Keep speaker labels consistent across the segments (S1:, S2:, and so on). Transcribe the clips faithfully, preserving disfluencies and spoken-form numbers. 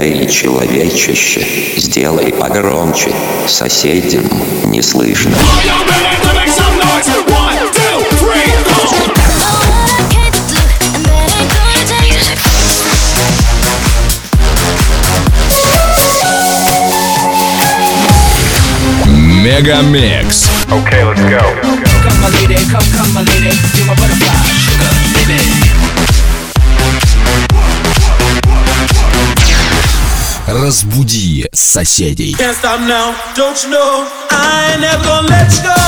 S1: Эй, человечище, сделай погромче, соседям не слышно.
S2: Мегамикс.
S3: Okay, let's go.
S4: Come my lady, come, come my lady, you're my butterfly, sugar, baby.
S2: Разбуди соседей.
S5: Can't stop now, don't you know? I ain't never gonna let you go.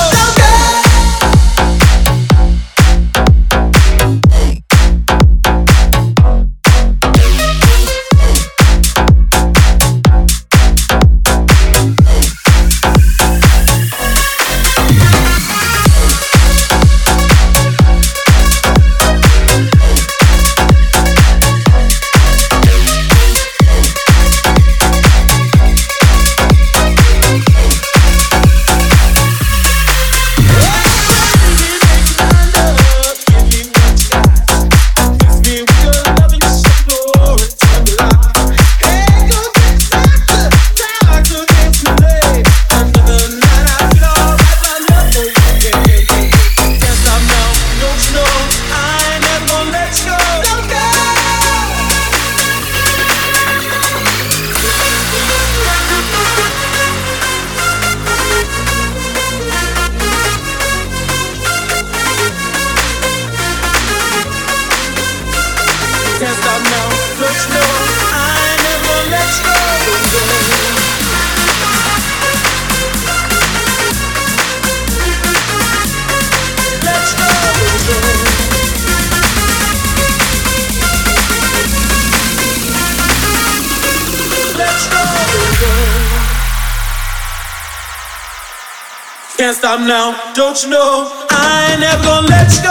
S5: Can't stop now, don't you know? I ain't never gonna let you go.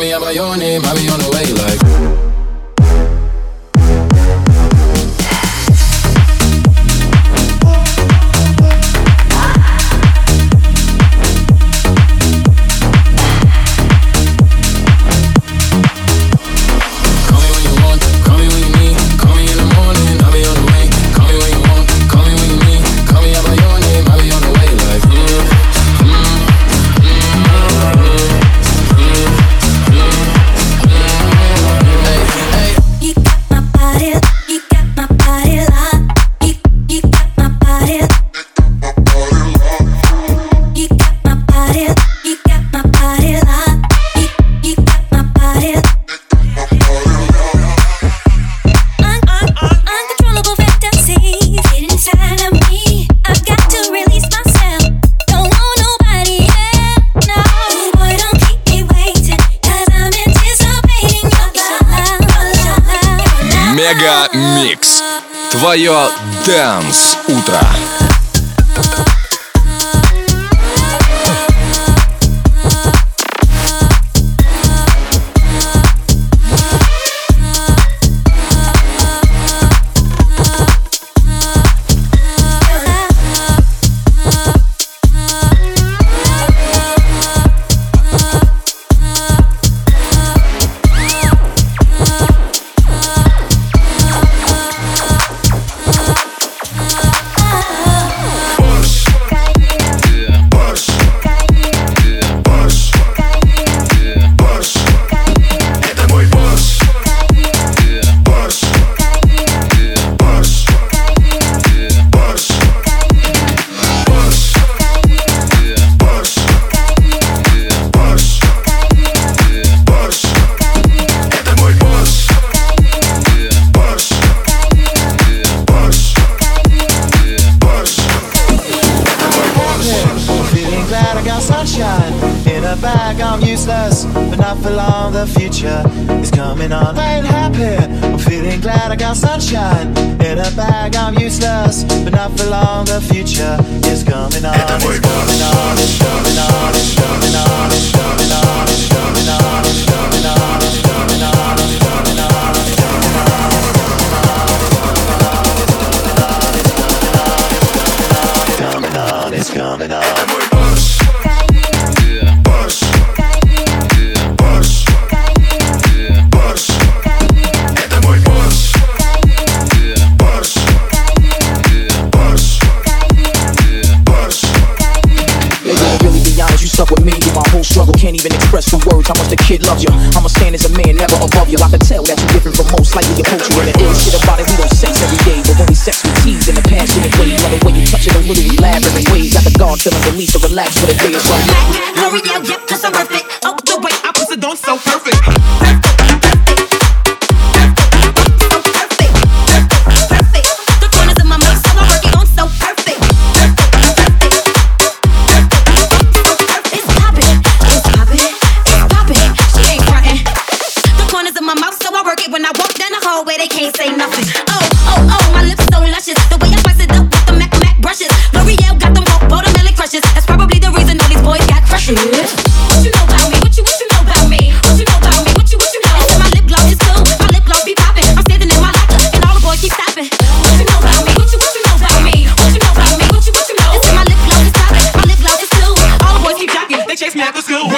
S3: me out by your name, I be on the way like.
S2: Мега Микс. Твое Dance утро.
S6: The future is coming on. I ain't happy, I'm feeling glad I got sunshine in a bag. I'm useless, but not for long. The future is coming on. It's coming on. It's coming on. It's coming on. It's coming on. It's coming on. It's coming on. It's coming on. It's coming on. It's coming on. It's coming on.
S7: Struggle, can't even express the words how much the kid loves you. I'ma stand as a man, never above you. I can tell that you're different from most, like you approach you. And the ill shit about it, we don't sex every day, but when we sex, we tease in a passionate way. Love the way you touch it, a little elaborate ways. Got the guard feeling released to relax for the day is right.
S8: Hurry up, yeah, cause I'm worth it. Oh, the way I put it on so perfect.
S9: Where they can't say nothing. Oh, oh, oh, my lips so luscious. The way I spice it up with the Mac Mac brushes. L'Oreal got them watermelon crushes. That's probably the reason all these boys got crushes. What you know about me? What you what you know about me? What you know about me? What you what you know? I said my lip gloss is cool. My lip gloss be popping. I'm standing in my locker and all the boys keep stopping. What you know about me? What you what you know about me? What you know about me? What you what you know? I said my lip gloss is popping. My lip gloss is cool. All the boys keep jocking. They chase me after school.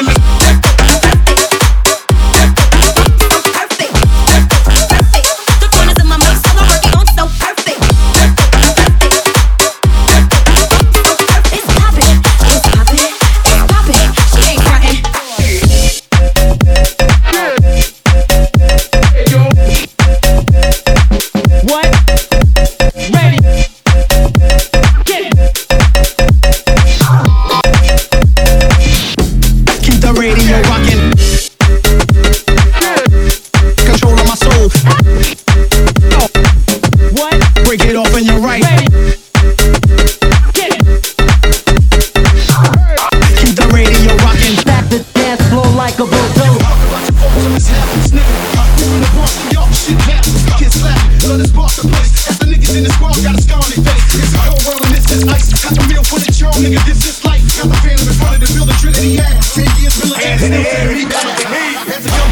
S6: Nigga, this is life. Got the feeling in front of the building, Trinity act. Ten years military, got me. Hands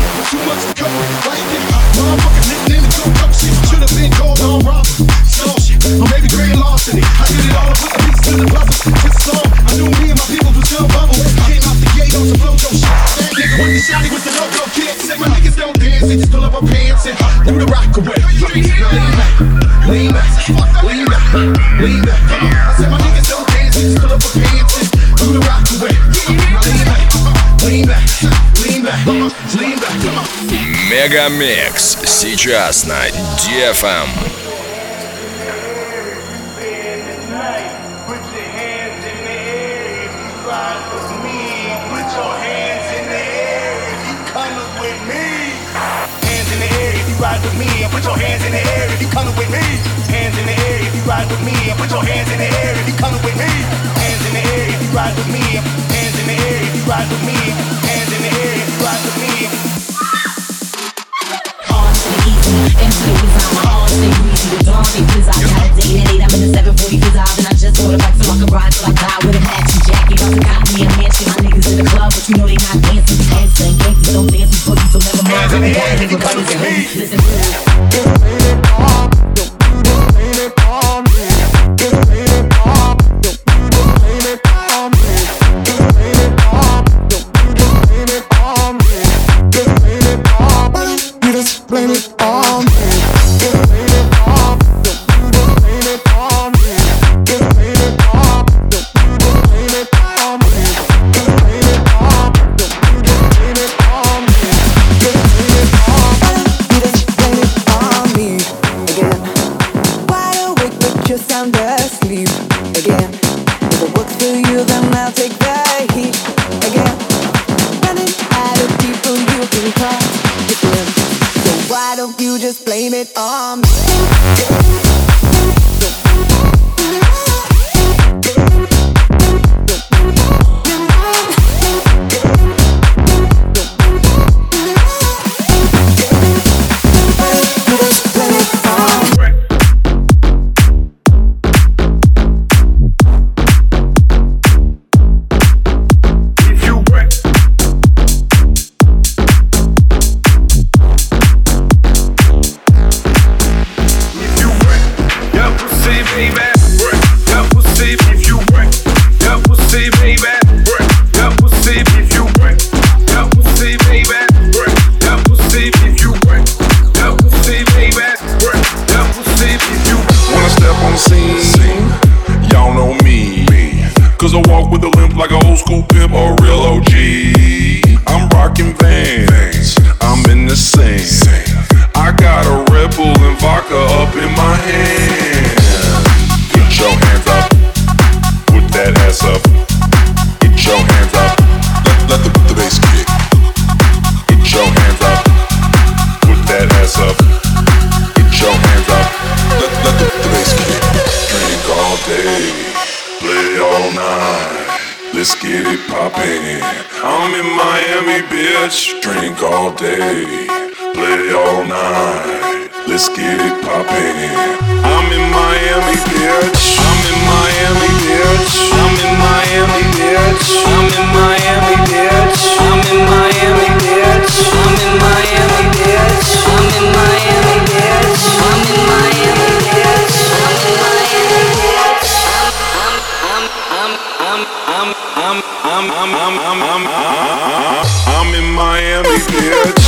S10: Just so I knew me and my people was gonna bubble. Came out the gate on some flojo shit. That nigga with the shotty with the logo kid. Said my niggas don't dance, they just pull up our pants and do the rock away. Lean back, lean back, lean back, lean back. I said my niggas don't dance, they just pull up our pants and do the rock away. Lean back, lean back, lean back, lean back.
S2: Мегамикс сейчас на ди эф эм.
S11: Ride with me and put your hands in the air if you coming with me. Hands in the air if you ride with me and put your hands in the air if you coming with me. Hands in the air if you ride with me. Hands in the air if you ride with me. Hands in the air if you ride with me.
S9: Hard to the easy, influence on my heart, stay greasy. The dawn they quiz, I got a date at eight. I'm in the seven forty fizz and I just ordered a bike so I can ride till I die with a matching jacket. Also got me a mansion, my niggas in the club, but you know they not dancing. Dancing, gangsters don't dance with boogies, so never mind.
S11: Hands in the air if you coming with me.
S9: Listen to this.
S12: Let's get it poppin'. I'm in Miami, bitch. Drink all day, play all night. Let's get it poppin'. I'm in Miami, bitch. I'm in Miami, bitch. I'm in Miami, bitch. I'm in Miami, bitch. I'm in Miami, bitch. I'm in Miami, bitch. I'm in Miami, bitch. I'm in Miami, bitch. I'm in Miami, bitch. I'm I'm I'm I'm I'm I'm I'm I'm I'm I'm I'm in Miami, bitch.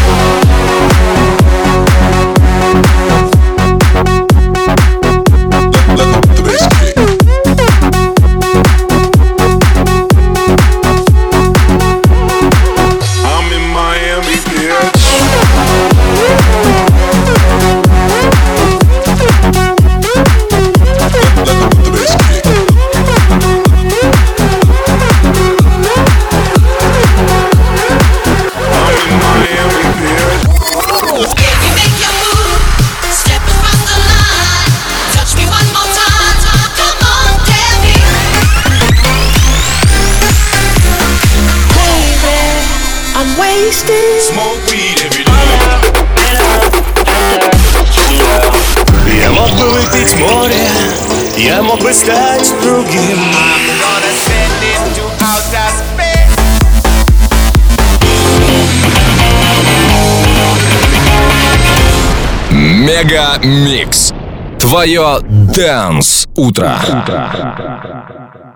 S11: Smoke weed every day.
S13: Я мог бы выпить море, я мог бы стать другим.
S11: I'm gonna send it to outer space.
S2: Мегамикс. Твое Dance утро.